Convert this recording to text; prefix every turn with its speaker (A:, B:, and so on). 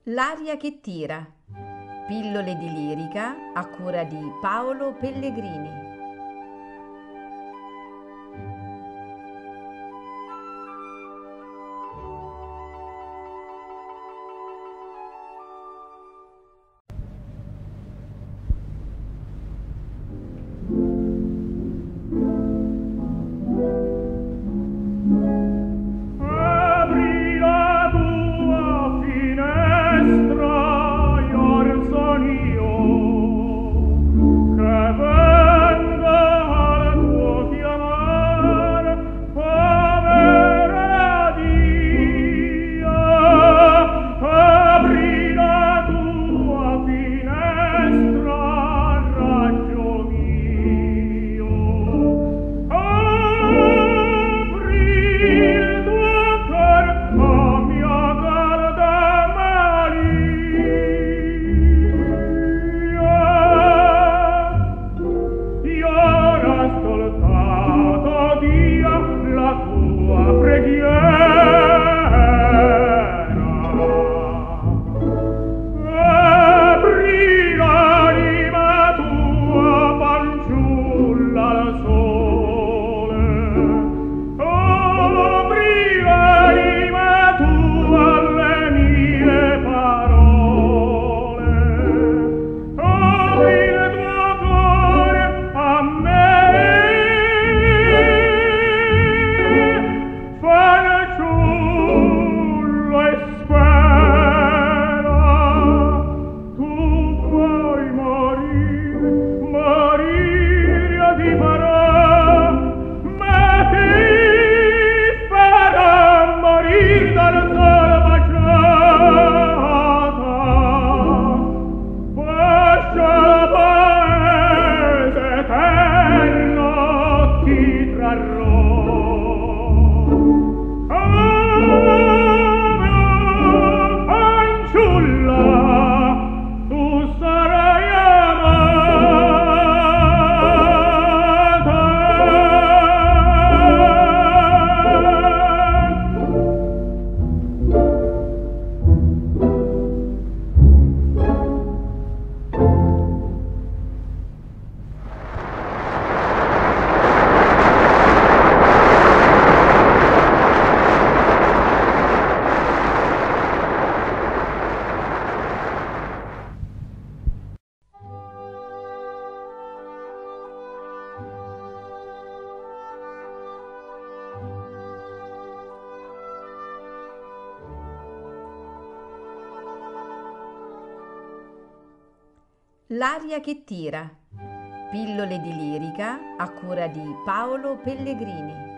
A: L'aria che tira. Pillole di lirica a cura di Paolo Pellegrini.
B: Apri la tua finestra, Iorzon io, che venga al tuo chiamar, povera Dio. Apri la tua finestra, raggio mio. Apri il tuo cor a mia calda Maria. Io ho ascoltato, Dio, la tua preghiera. Apri l'anima tua, fanciulla al sole. Apri l'anima tua alle mie parole. Apri il tuo cuore a me, fanciullo, e spera. Tu puoi morire, morire io ti farò, ma ti farò morire dal sole baciata. Bacia la paese eterno ti trarrò. Fanciulla, tu sarai amata.
A: L'aria che tira. Pillole di lirica a cura di Paolo Pellegrini.